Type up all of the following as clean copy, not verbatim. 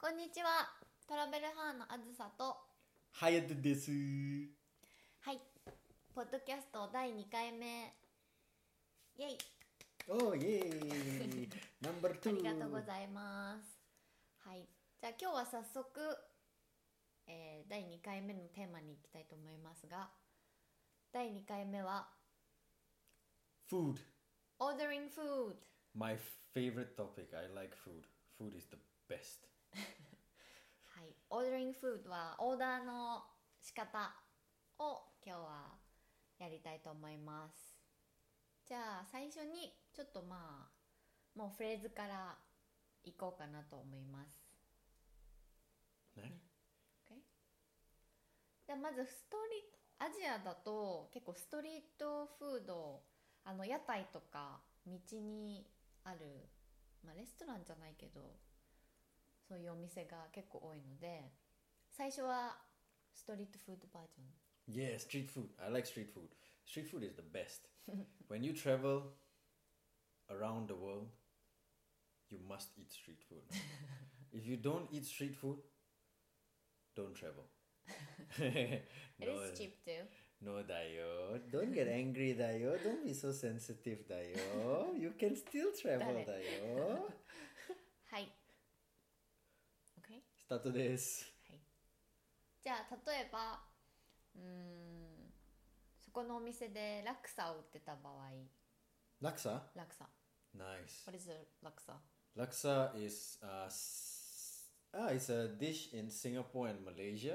こんにちは。トラベルハーのあずさと、 ハヤトです。 はい、ポッドキャスト第2回目、イェイ。 おーイエーイナンバー2。 ありがとうございます。はい、じゃあ今日は早速、第2回目のテーマに行きたいと思いますが、第2回目は Food. Ordering Food。 My favorite topic. I like food. Food is the best. はい、Ordering Food はオーダーの仕方を今日はやりたいと思います。じゃあ最初にちょっともうフレーズからいこうかなと思います。 ね。 Okay? じゃあまずアジアだと結構ストリートフード、屋台とか道にある、レストランじゃないけどそういうお店が結構多いので、最初はストリートフードバージョン。 Yeah, street food. I like street food. Street food is the best. When you travel around the world, you must eat street food. If you don't eat street food, don't travel. It is cheap too. No, Dayo. Don't get angry, Dayo. Don't be so sensitive, Dayo. You can still travel, Dayo. はい OK。 スタートです。 はい、じゃあ例えばそこのお店でラクサを売ってた場合。 ラクサ？ ラクサ。 Nice. What is a ラクサ？ Laksa is it's a dish in Singapore and Malaysia.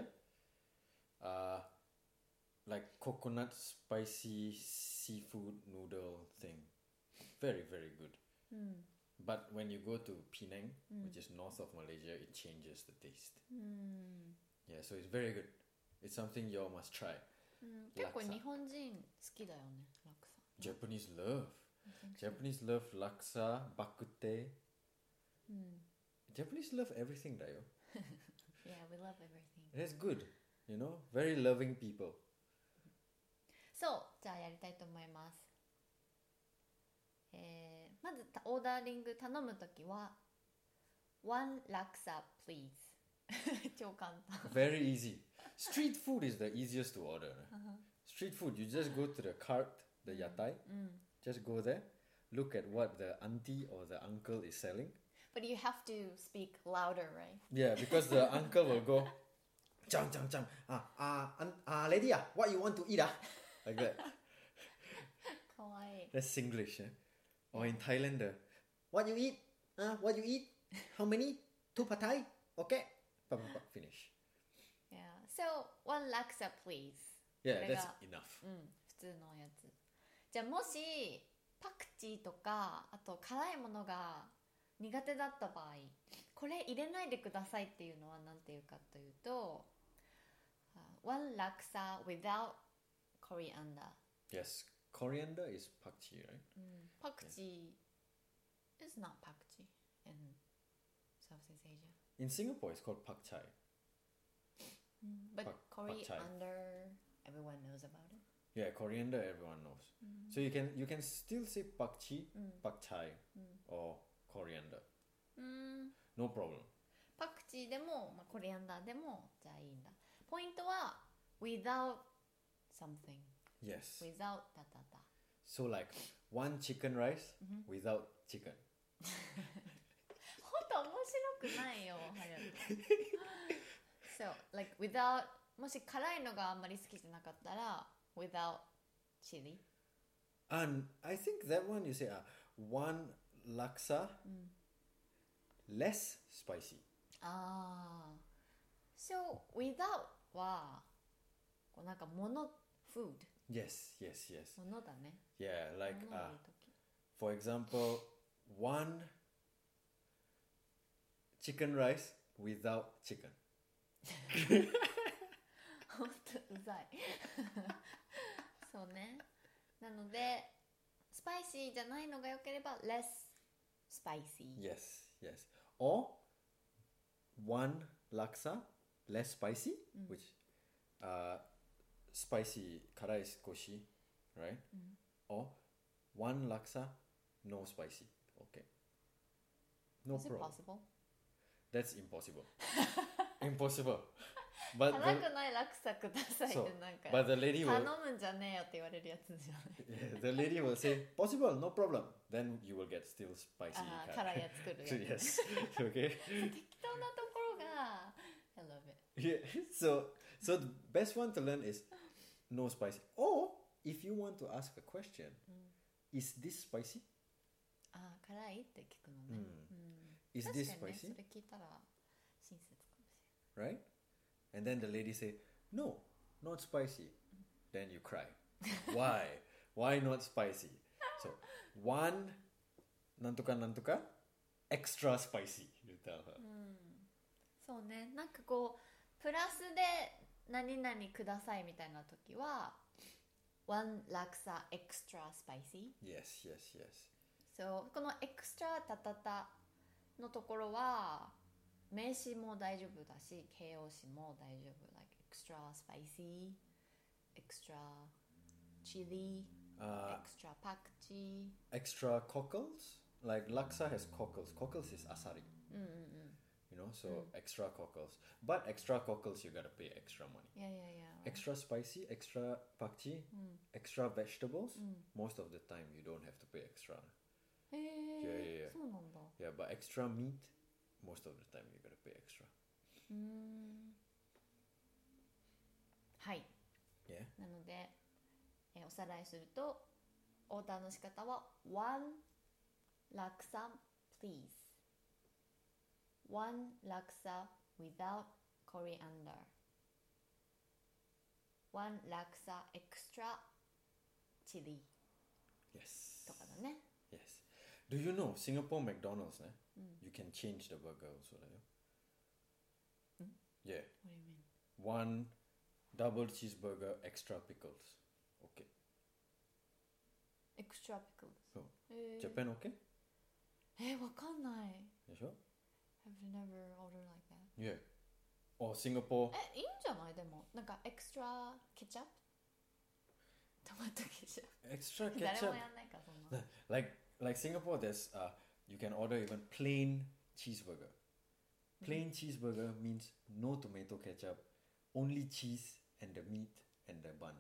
Like coconut spicy seafood noodle thing. Very, very good. But when you go to Penang, which is north of Malaysia, it changes the taste. Yeah, so it's very good. It's something you all must try. 結構 Laksa. 日本人好きだよね、ラクサ。 Japanese love. Japanese love laksa, bakute. Japanese love everything, Dayo. Yeah, we love everything. That's good. You know, very loving people. そう、じゃあやりたいと思います。まずオーダーリング頼むときは One ラクサ please 超簡単。 Very easy. Street food is the easiest to order. Street food, you just go to the cart, the yatai. Just go there, look at what the auntie or the uncle is selling. But you have to speak louder, right? Yeah, because the uncle will go, Chang, chang, chang. Lady, what you want to eat? Like that. かわいい。 That's Singlish. Or in Thailand, what you eat? What you eat? How many? 2 pad thai? Okay. Finish. Yeah. So, one ラクサ please. Yeah, これが that's enough. 普通のやつ。じゃあもしパクチーとかあと辛いものが苦手だった場合、これ入れないでくださいっていうのは何て言うかというと、one ラクサ without coriander. Yes, coriander is pakchi, right? パクチー is not パクチー in Southeast Asia. In Singapore, it's called pak chai. But Pak chai. coriander, everyone knows about it. Yeah, coriander everyone knows. So you can still say pakchi, pak chai, or coriander. No problem. パクチーでも、コリアンダーでもじゃあいいんだ。ポイントは without something. Yes. Without だだだ。 So like one chicken rice without chicken. ほんと面白くないよ、早く。So, like without もし辛いのがあんまり好きじゃなかったら without chili. And I think that one you say one laksa less spicy. ああ。So, without はこうなんか物 food Yes, yes, yes. 物だね。 Yeah, like 物を入れるとき。 for example, one chicken rice without chicken. ほんとうざい。そうね。なのでスパイシーじゃないのが良ければ less spicy. Yes, yes. Or one laksa less spicy, which spicy karai koshi, right? Or one laksa no spicy. Okay. No Is it problem. possible? That's impossible. Impossible. But 辛くないラクサくださいってなんか but the lady 頼 will むんじゃねえよって言われるやつじゃない yeah, the lady will say possible, no problem. Then you will get still spicy. あー kind. 辛いやつ来るやつ yes. Okay. 適当なところが I love it Yeah. So the best one to learn is no spicy. Or if you want to ask a question, is this spicy? あー辛いって聞くのね、 Is 確 this かにね spicy? それ聞いたら親切かもしれない Right? And then the lady say, no, not spicy. Then you cry. Why? Why not spicy? So one nantoka extra spicy. You tell her. そうねなんかこうプラスで何々くださいみたいな時は one laksa extra spicy Yes, yes, yes. So このエクストラタタタのところは名詞も大丈夫だし形容詞も大丈夫 like extra spicy extra chili extra パクチ Extra cockles? Like laksa has cockles. Cockles is asari. You know, so extra cockles. But extra cockles you gotta pay extra money. いやいやいや Extra spicy, extra pakchi, extra vegetables. Most of the time you don't have to pay extra. へえ Yeah. そうなんだ Yeah, but extra meat, most of the time you gotta pay extra. はい Yeah. なので、おさらいするとオーダーの仕方は one laksa please one laksa without coriander one laksa extra chili Yes. とかだね Yes. Do you know Singapore McDonald's? You can change the burger also. Yeah. What do you mean? One double cheeseburger, extra pickles. Okay. extra pickles So, へー Japan okay? わかんない You sure? I've never ordered like that Yeah. Or Singapore. いいんじゃないでもなんかエクストラケチャップトマトケチャッ Extra プ誰 ketchup. もやんないかそんな Like Singapore, there's you can order even plain cheeseburger. Plain cheeseburger means no tomato ketchup, only cheese and the meat and the bun.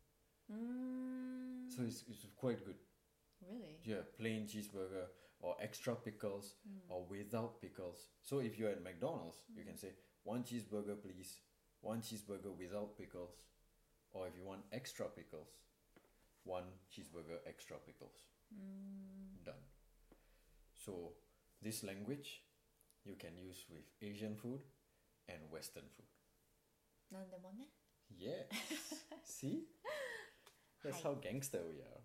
So it's quite good. Really? Yeah, plain cheeseburger or extra pickles or without pickles. So if you're at McDonald's, you can say one cheeseburger please, one cheeseburger without pickles, or if you want extra pickles, one cheeseburger extra pickles. Done. So this language you can use with Asian food and Western food. なんでもね Yes. See? That's how gangster we are.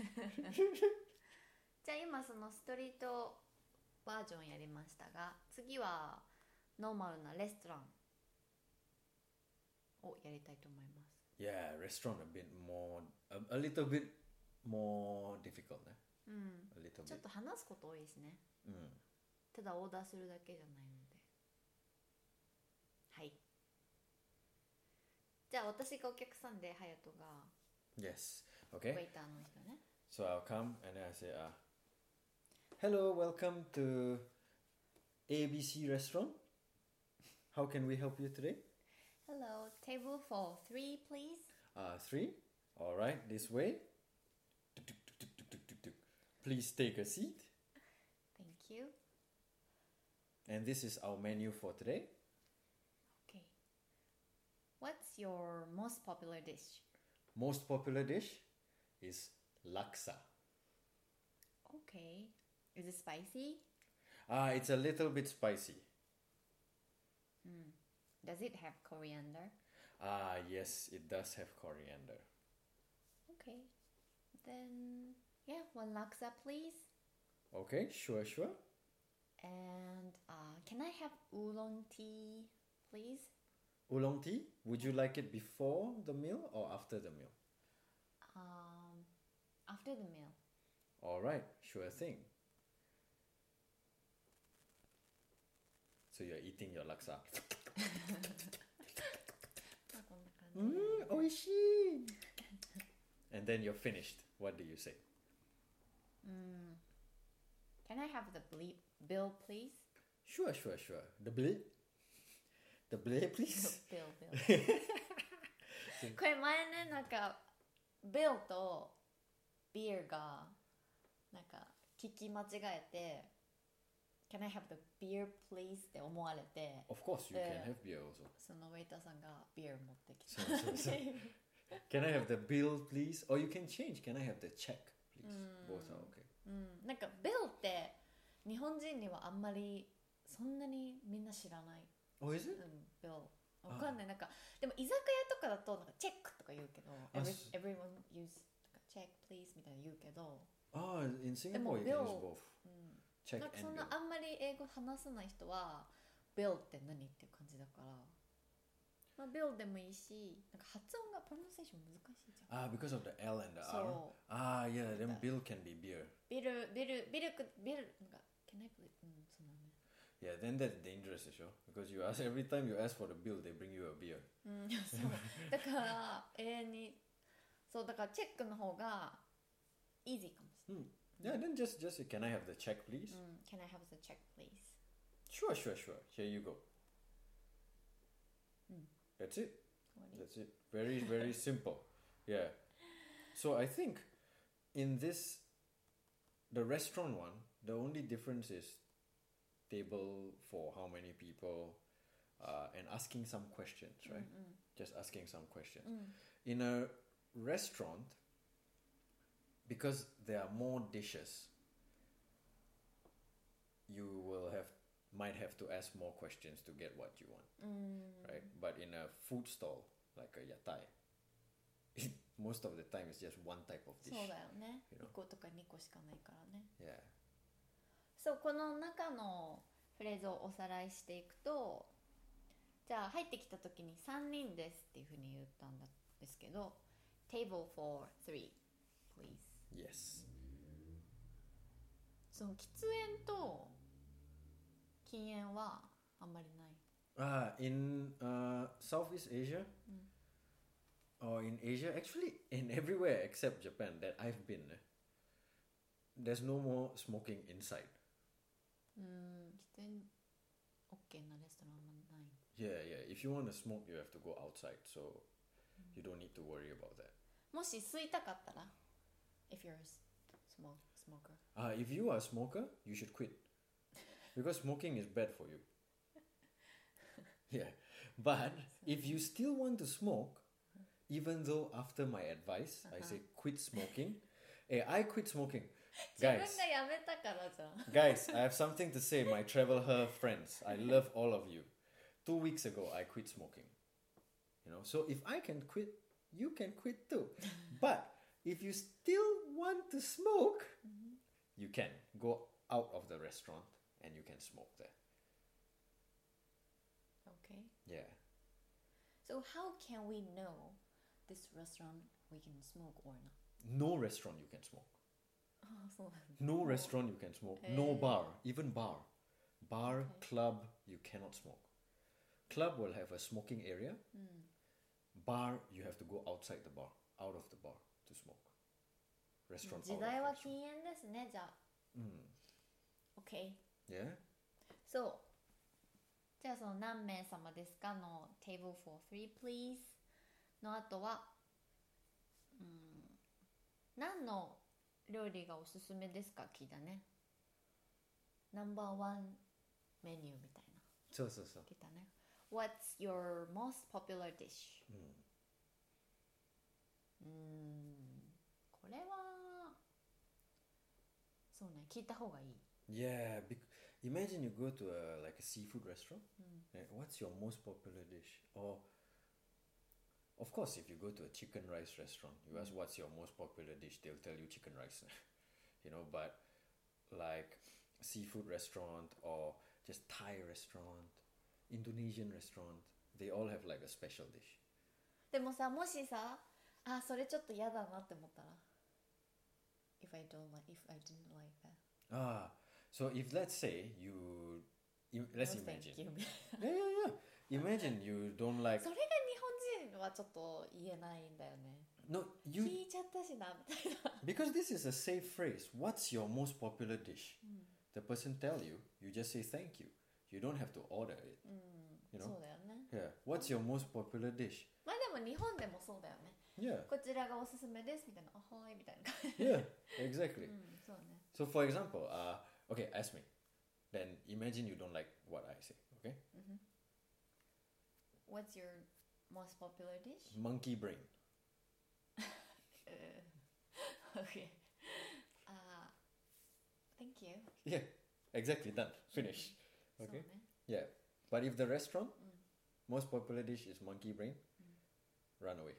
じゃあ今そのストリートバージョンやりましたが次はノーマルなレストランをやりたいと思います Yeah, restaurant a bit more, a little bit more difficult, né? うん A little ちょっ bit. と話すこと多いですね Mm. ただオーダーするだけじゃないのではいじゃあ私がお客さんでハヤトが Yes. ウ Okay. ェイターの人ね So I'll come and then I say, hello, welcome to ABC restaurant. How can we help you today? Hello, table for 3 please 3. All right, this way. Tuk, tuk, tuk, tuk, tuk, tuk, tuk. Please take a seat. Thank you And this is our menu for today. Okay What's your most popular dish? Most popular dish is laksa. Okay Is it spicy? It's a little bit spicy. Does it have coriander? Yes, it does have coriander. Okay. Then, yeah, 1 laksa, please. Okay, sure. And can I have oolong tea, please? Oolong tea, would you like it before the meal or after the meal? After the meal. All right, sure thing. So you're eating your laksa. こんな感じ。 Oishii! And then you're finished. What do you say? Can I have the bill, please? Sure. The bill? The bill, please? ビルこれ前ね、なんかビルとビールがなんか聞き間違えて Can I have the beer please? って思われて、 Of course, you can have beer also. そのウェイターさんがビール持ってきた。 So. Can I have the bill, please? Or you can change. Can I have the check, please? Both are okay. なんかビルって日本人にはあんまりそんなにみんな知らない。 Oh, is it? ビルわかんない。なんかでも居酒屋とかだとなんかチェックとか言うけど、everyone use チェック please みたいな言うけど、 In Singapore you can use both. Check なんか and そん bill. なあんまり英語話せない人はビルって何っていう感じだから、まあビルでもいいし、なんか発音がプロナンセーション難しいじゃん。 Because of the L and the R. そう。 Yeah, then bill can be beer. ビルなんか Can I please? そうだね。 Yeah, then that's dangerous, because you ask every time you ask for the bill, they bring you a beer. そうだから永遠にそうだからチェックの方がイージーかもしれない。 Yeah, then just can I have the check, please? Can I have the check, please? Sure. Here you go. That's it. That's it. Very, very simple. Yeah. So I think in this, the restaurant one, the only difference is table for how many people, and asking some questions, right? Just asking some questions. In a restaurant, because there are more dishes, you might have to ask more questions to get what you want, right? But in a food stall like a yatai, most of the time it's just one type of dish. そうだよね。1個とか2個しかないからね。 Yeah. そうこの中のフレーズをおさらいしていくと、じゃあ入ってきた時に3人ですっていうふうに言ったんですけど、table for 3 please. Yes. その喫煙と禁煙はあんまりない。 In Southeast Asia, or in Asia, actually in everywhere except Japan that I've been, there's no more smoking inside. 喫煙 OK なレストランはない。 Yeah. If you want to smoke, you have to go outside, so you don't need to worry about that. もし吸いたかったら if you're a smoker. If you are a smoker, you should quit. Because smoking is bad for you. Yeah. But if you still want to smoke, even though after my advice, I say quit smoking. Hey, I quit smoking. 自分がやめたからじゃん。 Guys, I have something to say, my traveler friends. I love all of you. 2 weeks ago, I quit smoking. So if I can quit, you can quit too. But if you still want to smoke, you can go out of the restaurant and you can smoke there. Okay. Yeah. So how can we know this restaurant we can smoke or not? No restaurant you can smoke. そうなんだ。 No restaurant you can smoke. No bar. Even bar. Bar, club, you cannot smoke. Club will have a smoking area. Bar, you have to go outside the bar. Out of the bar to smoke. Restaurant 時 out of 代は restaurant. 禁煙ですね、じゃあ。OK。 Yeah? そう。じゃあその何名様ですかの table for 3 please の後は、何の料理がおすすめですか聞いたね。ナンバーワンメニューみたいな。 そう。 聞いたね。What's your most popular dish? これはそうね、聞いた方がいい。 Yeah, imagine you go to like a seafood restaurant. What's your most popular dish? Or, of course, if you go to a chicken rice restaurant, you ask what's your most popular dish, they'll tell you chicken rice. But like seafood restaurant or just Thai restaurant, Indonesian restaurant, they all have like a special dish. でもさ、もしさ、それちょっと嫌だなって思ったら if I didn't like that. So if let's say let's No, imagine. thank you. Yeah. Imagine you don't like. それが日本人はちょっと言えないんだよね。 No, 聞いちゃったしなみたいな。 because this is a safe phrase. What's your most popular dish? The person tell you, you just say thank you. You don't have to order it. そうだよね。 Yeah. What's your most popular dish? まあでも日本でもそうだよね。 Yeah. こちらがおすすめですみたいな、あはーいみたいな感じ。 Yeah. Exactly. そうね。 So for example, okay, ask me. Then imagine you don't like what I say. Okay. What's your most popular dish? Monkey brain. Okay. Thank you. Yeah. Exactly. Done. Finish. そう Okay. ね。 Yeah. But if the restaurant most popular dish is monkey brain, run away.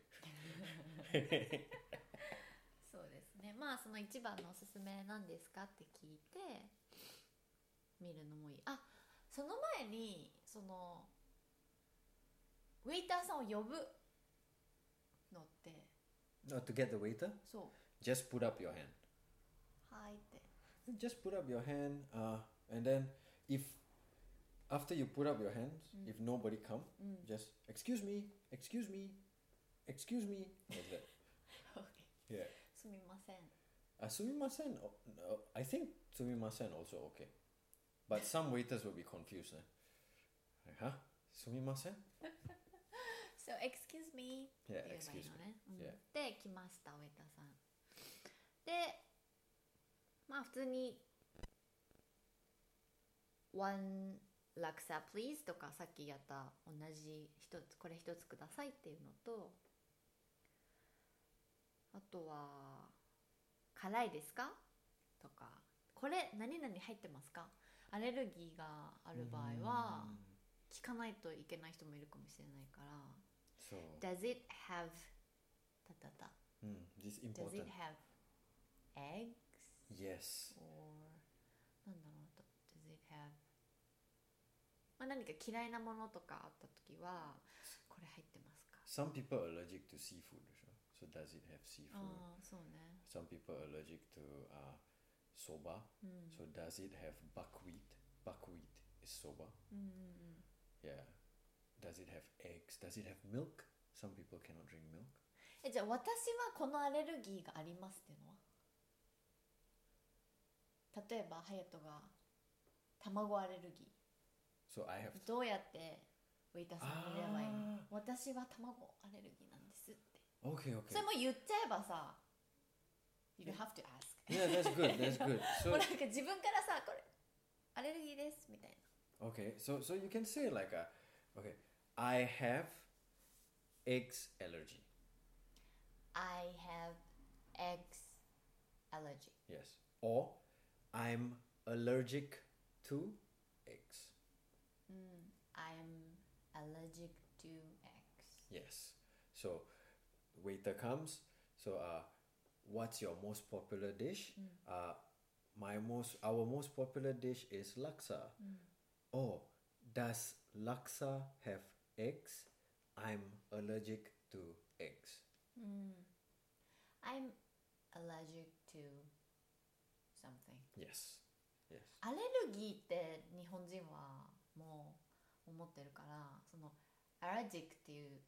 そうですね。まあその一番のおすすめなんですかって聞いて見るのもいい。あ、その前にそのウェイターさんを呼ぶのって、 No, to get the waiter, そう just put up your hand. はいって、 Just put up your hand, and then if after you put up your hands, if nobody come, just excuse me, excuse me, excuse me, like that. Yeah. すみません。 Sumimasen. No, I think sumimasen also okay, but some waiters will be confused. Like, huh? Sumimasen? So excuse me って言 Yeah, えばいい excuse の me. ね。 Yeah. で来ましたウェイターさん。で、まあ普通に One laksa please とかさっきやった同じ一つこれ一つくださいっていうのと、あとは辛いですかとか、これ何々入ってますか、アレルギーがある場合は聞かないといけない人もいるかもしれないから、 So, Does it have たたた this Does important. it have eggs? Yes. Or なんだろう、Does it have まあ何か嫌いなものとかあったときはこれ入ってますか。 Some people are allergic to seafood, so does it have seafood? ああ、そうね。 Some people are allergic to soba, so does it have buckwheat? Buckwheat is soba. Yeah. Does it have eggs? Does it have milk? Some people cannot drink milk. じゃあ私はこのアレルギーがありますっていうのは、例えばハヤトが卵アレルギ So I have ー、どうやってウェイターさんに言えばいいの、私は卵アレルギーなんですって。 okay, それ okay. も言っちゃえばさ You don't have to ask. Yeah, that's good. That's good. もう So なんか自分からさ、これアレルギーですみたいな。 okay, so you can say like okay, I have eggs allergy. I have eggs allergy. Yes. Or I'm allergic to eggs. I'm allergic to eggs. Yes. So waiter comes. So what's your most popular dish? Our most popular dish is laksa. Oh, does laksa have eggs? I'm allergic to eggs. I'm allergic to something. Yes. Yes. アレルギーって日本人はもう思ってるから、その allergic っていう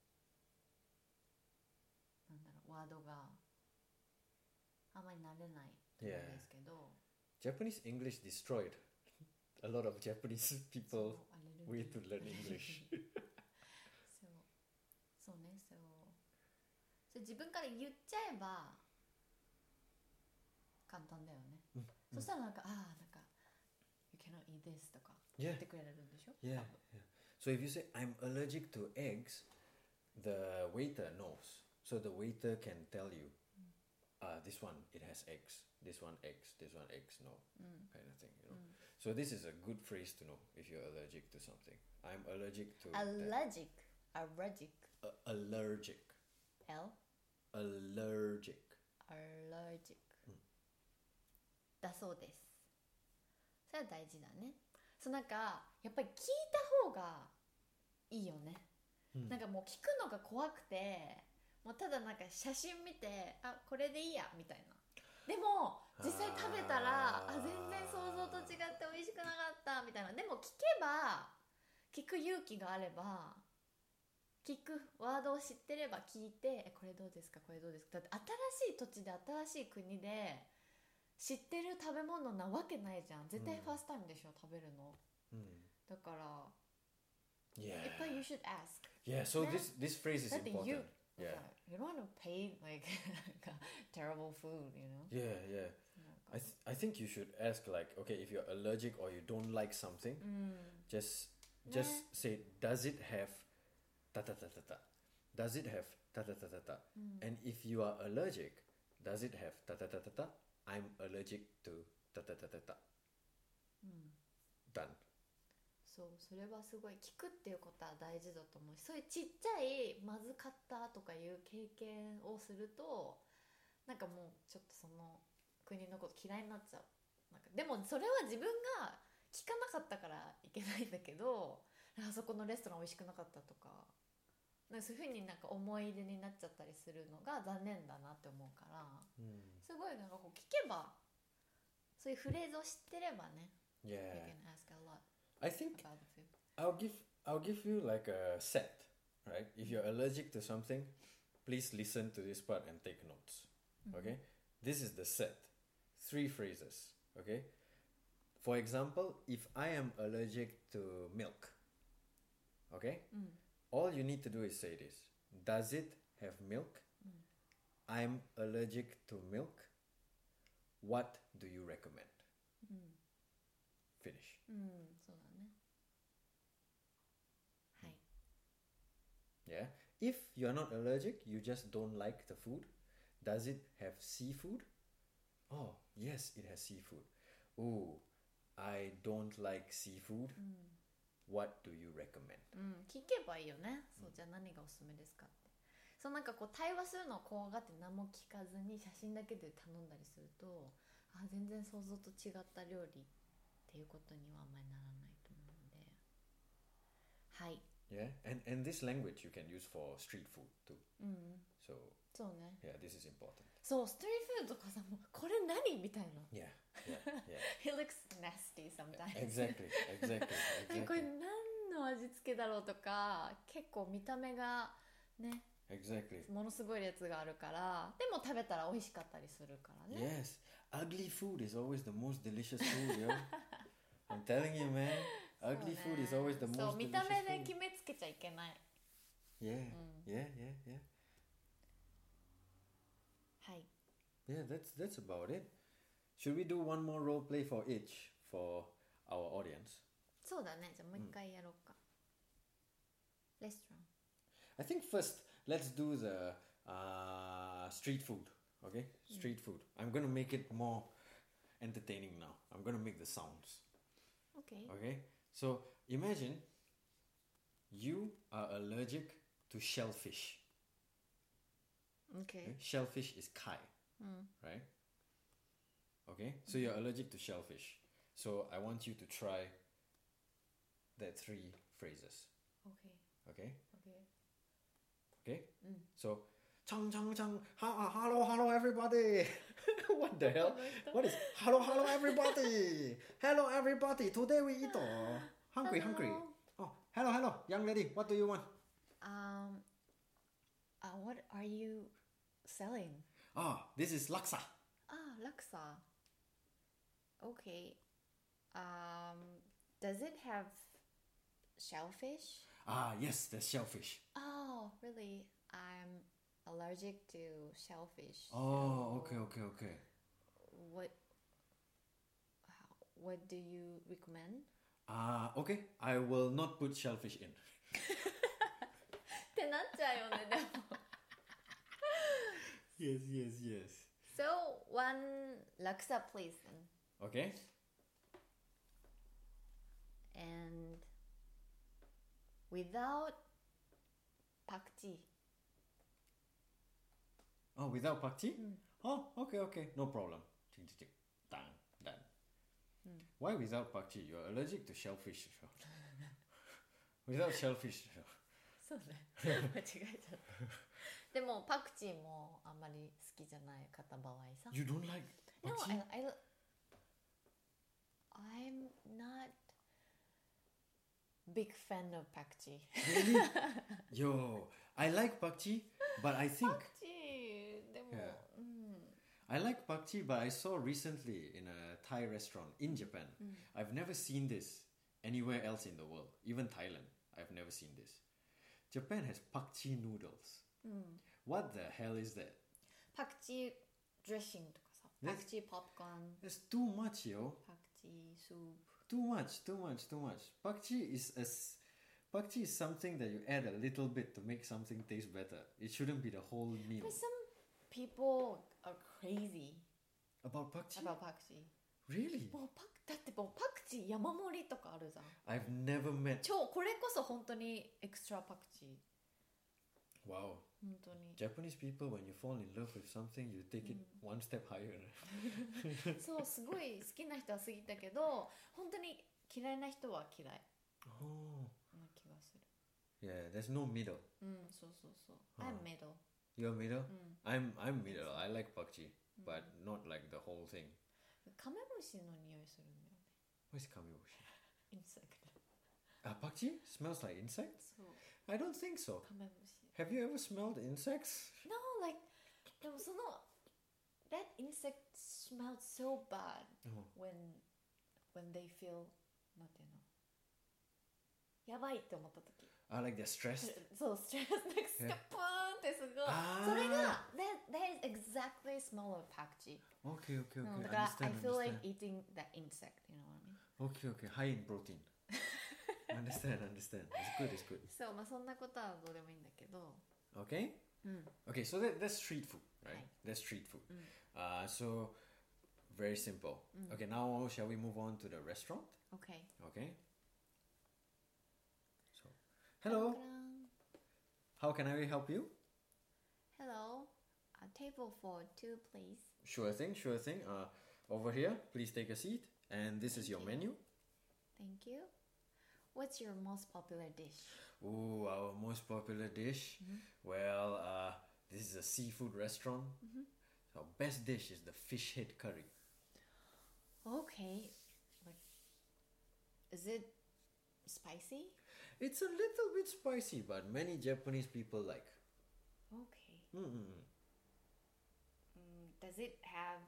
なんだろうワードがあんまり慣れないと思うんですけど、 Japanese English destroyed a lot of Japanese そう people アレル way ギー to learn English. そうね、それ自分から言っちゃえば簡単だよね。そしたらなんかなんか You cannot eat this とか Yeah. 言ってくれるんでしょ。 Yeah, yeah. So if you say I'm allergic to eggs, the waiter knows. So the waiter can tell you, this one it has eggs, this one eggs, this one eggs, no, kind of thing. You know. So this is a good phrase to know if you're allergic to something. I'm allergic to that. Allergic Allergic. L Allergic. allergic だそうです。それは大事だね。そうなんかやっぱり聞いた方がいいよね。なんかもう聞くのが怖くて、もうただなんか写真見てこれでいいやみたいな。でも実際食べたら全然想像と違って美味しくなかったみたいな。でも聞く勇気があれば、聞くワードを知ってれば聞いてこれどうですかこれどうですか。だって新しい土地で新しい国で知ってる食べ物なわけないじゃん。絶対ファーストタイムでしょ、食べるの。 だから Yeah. やっぱり you should ask. Yeah, so ね。 this phrase is だって important. you Yeah. you don't want to pay like terrible food, you know? Yeah, yeah. なんか I think you should ask like, okay, if you're allergic or you don't like something, うん just ね say, does it have ta ta ta ta ta? Does it have ta ta ta ta ta? うん And if you are allergic, does it have ta ta ta ta ta? I'm allergic to ta ta ta ta ta. うん Done. そうそれはすごい聞くっていうことは大事だと思うし、そういうちっちゃいまずかったとかいう経験をするとなんかもうちょっとその国のこと嫌いになっちゃう。なんかでもそれは自分が聞かなかったからいけないんだけど、あそこのレストラン美味しくなかったとか、なんかそういう風になんか思い出になっちゃったりするのが残念だなって思うから、すごいなんかこう聞けばそういうフレーズを知ってればね、you Yeah. can ask a lot I think about the food. I'll give you like a set, right? If you're allergic to something, please listen to this part and take notes. Okay? This is the set. 3 phrases. Okay? For example, if I am allergic to milk, okay? うん All you need to do is say this. Does it have milk? I'm allergic to milk. What do you recommend? うん Finish. うんそうだね。はい。 Yeah. If you're not allergic, you just don't like the food. Does it have seafood? Oh, yes, it has seafood. Oh, I don't like seafood. うん What do you recommend? うん聞けばいいよね。そうじゃあ何がおすすめですかって。そうなんかこう対話するのを怖がって何も聞かずに写真だけで頼んだりすると、あ全然想像と違った料理っていうことにはあんまりならないと思うので。はい。 Yeah. And this language you can use for street food too. うん So, そうね。 yeah, this is important. そうストリートフードとかさ、もうこれ何みたいな。 Yeah. Yeah. Yeah. It looks nasty sometimes. Exactly. Exactly. これ Exactly. 何の味付けだろうとか、結構見た目がね Exactly. ものすごい列があるから、でも食べたら美味しかったりするからね。 Yes. Ugly food is always the most delicious food, yo. I'm telling you, man. そう Ugly ね food is always the そう most 見た delicious 目で food. 決めつけちゃいけない。 Yeah. うん Yeah. Yeah. Yeah. はい。 Yeah. That's about it. Should we do one more role play for each for our audience? そうだね。じゃあもう一回やろうか。レストラン。 I think first let's do the street food. Okay, street food. I'm gonna make it more entertaining now. I'm gonna make the sounds. OK。 Okay, so imagine you are allergic to shellfish. OK。 Shellfish is kai, うん。 right? Okay, so you're allergic to shellfish. So I want you to try the 3 phrases. OK。 Okay, OK。 okay. うん。 So, chang chang chang, hello everybody. What the hell? What is hello everybody? Hello everybody. Today we eat hungry. Oh, hello young lady. What do you want? What are you selling? Ah, this is laksa. Laksa. OK. Does it have shellfish? Ah, yes, there's shellfish. Oh, really? I'm allergic to shellfish. Oh, so okay. What do you recommend? Okay. I will not put shellfish in. ってなっちゃうよね、でも。 Yes. So, one laksa please then. Okay. And without pakji. Oh, without pakji? Oh, okay. No problem. Tick. Done. Why without pakji? You're allergic to shellfish. Without shellfish. そうね。間違えちゃった。でもパクチーもあんまり好きじゃない方場合さ。 You don't like No, pakji? I'm not big fan of pakji. Really? Yo, I like pakji, but I think パクチーでも、 Yeah. うん。 I like pakji, but I saw recently in a Thai restaurant in Japan. I've never seen this, anywhere else in the world, even Thailand. I've never seen this. Japan has pakchi noodles. What the hell is that? パクチードレッシングとかさ、パクチーポップコーン、 That's too much, yo. パクチースープ。 Too much. Pakchi is something that you add a little bit to make something taste better. It shouldn't be the whole meal. But some people are crazy About pakchi? about パクチー。 Really? だってもうパクチー山盛りとかあるじゃん。 I've never met. これこそ本当にエクストラパクチー。 Wow. 本当に。 Japanese people, when you fall in love with something, you take it one step higher. そう、すごい好きな人は好きだけど、本当に嫌いな人は嫌い Oh. な気がする。 Yeah, there's no middle. そうそうそう。I'm middle. You're middle? I'm middle. I like pakchi, but not like the whole thing. カメムシの匂いするんだよね。 What's kamebushi? インセクト。 Pakchi smells like insects? そう。 I don't think so. カメムシ。 Have you ever smelled insects? No, like でもその that insect smells so bad when they feel なんていうのやばいって思った時 Like they're stressed? そうストレスなんかスカプーンってすごいあーそれが that is exactly smell of パクチー Okay. だから I Understand. feel like eating that insect, you know what I mean? Okay. High in protein. Understand. It's good. そう、まあそんなことはどうでもいいんだけど Okay? Okay, so that's street food, right? Right. That's street food. So, very simple. Okay, now shall we move on to the restaurant? OK Okay. So, hello. How can I help you? Hello, a table for two please. Sure thing. Over here, please take a seat. And this is your menu. Thank you. What's your most popular dish? Ooh, our most popular dish. Well, this is a seafood restaurant. Our best dish is the fish head curry. Okay. Like, is it spicy? It's a little bit spicy, but many Japanese people like. Okay. Does it have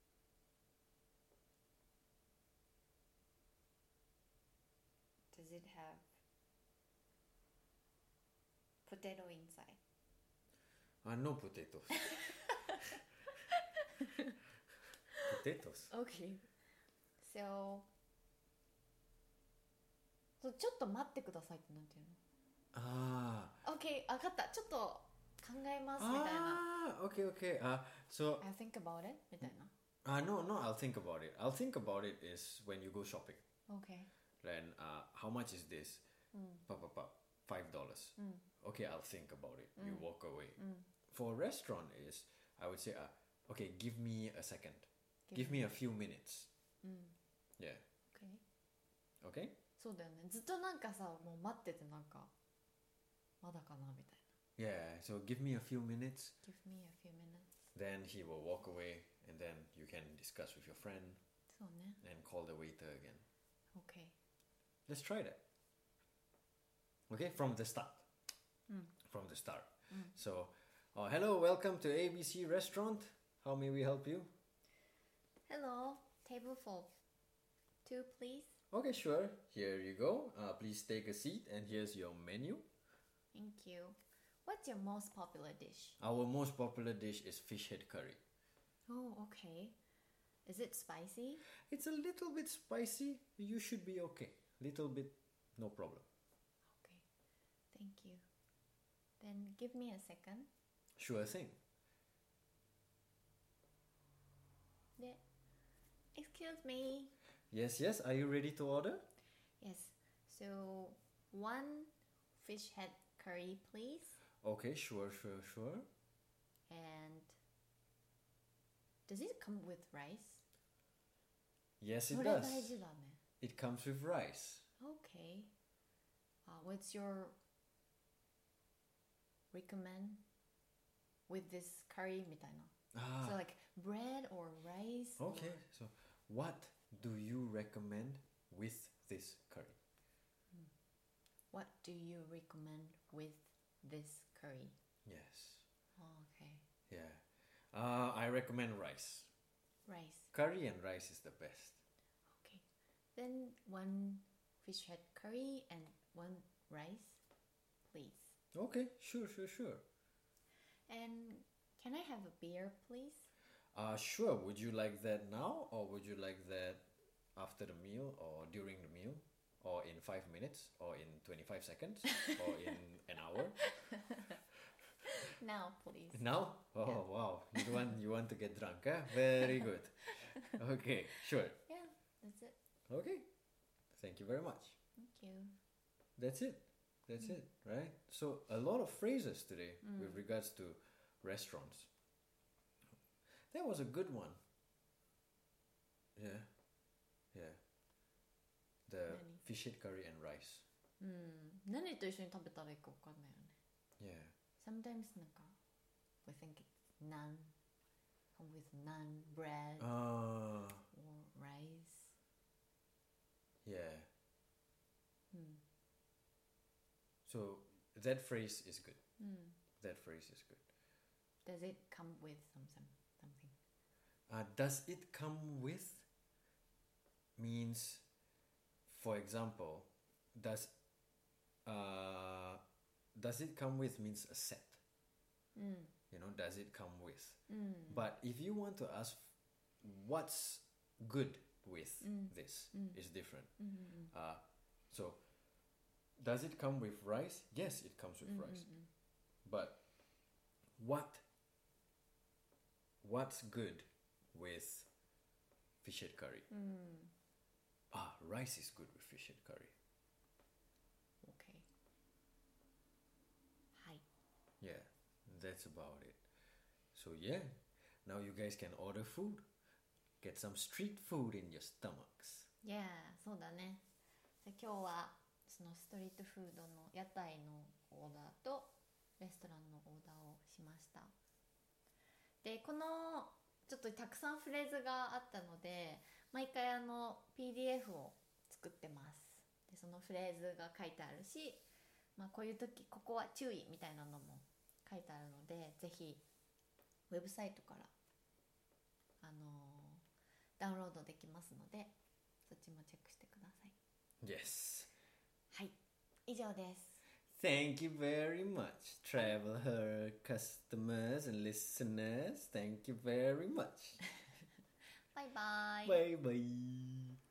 potato inside? No potatoes. Potatoes. Okay. So ちょっと待ってくださいってなんていうの Okay, 分かった。ちょっと考えますみたいな。 Okay. So I'll think about it みたいな。 no, I'll think about it. I'll think about it is when you go shopping. Okay. Then how much is this? $5. Okay, I'll think about it. You walk away. For a restaurant is I would say okay, give me a second. Give me a few minutes. Yeah. Okay. Okay? そうだよね。ずっとなんかさ、もう待っててなんかまだかなみたい Yeah, so give me a few minutes. な。Give me a few minutes. Then he will walk away and then you can discuss with your friend そうね。 and call the waiter again. Okay. Let's try that. Okay, from the start. From the start. So, hello, welcome to ABC Restaurant. How may we help you? Hello, table for two please. Okay, sure. Here you go. Please take a seat and here's your menu. Thank you. What's your most popular dish? Our most popular dish is fish head curry. Oh, okay. Is it spicy? It's a little bit spicy. You should be okay. Little bit, no problem. Okay. Thank you. Then give me a second. Sure thing. Yeah. Excuse me. Yes. Are you ready to order? Yes. So, one fish head curry, please. Okay, sure. And does it come with rice? Yes, it それ does. 大事だね。 It comes with rice. Okay. What's your recommend with this curry みたいな。So like bread or rice? Okay, so what do you recommend with this curry? What do you recommend with this curry? Yes. Oh, okay. Yeah. I recommend rice. Rice. Curry and rice is the best. Okay. Then one fish head curry and 1 rice, please. Okay, sure. And can I have a beer, please? Sure. Would you like that now, or would you like that after the meal, or during the meal, or in 5 minutes, or in 25 seconds, or in an hour? Now, please. Now? Oh, Yeah. wow. You want to get drunk, huh? Very good. Okay, sure. Yeah, that's it. Okay. Thank you very much. Thank you. That's it. That's it, right? So a lot of phrases today with regards to restaurants. That was a good one. Yeah. The Nani? fish head curry and rice. 何と一緒に食べたらいいか分かんないよね。 Yeah. Sometimes なんか we think it's naan, come with naan bread Ah, or rice. yeah. So that phrase is good. That phrase is good. Does it come with something? Does it come with means, for example, does it come with means a set? You know, does it come with? But if you want to ask what's good with this, is different. So does it come with rice? Yes, it comes with rice. But what's good with fish head curry? Rice is good with fish head curry. Okay. Hi. Yeah, that's about it. So yeah, now you guys can order food. Get some street food in your stomachs. Yeah, そうだね。で今日はそのストリートフードの屋台のオーダーとレストランのオーダーをしました。でこのちょっとたくさんフレーズがあったので毎回PDF を作ってます。でそのフレーズが書いてあるし、こういう時ここは注意みたいなのも書いてあるのでぜひウェブサイトからダウンロードできますのでそっちもチェックしてください。 Yes. はい、以上です。 Thank you very much, traveler customers and listeners. Thank you very much. バイバイ。 Bye bye.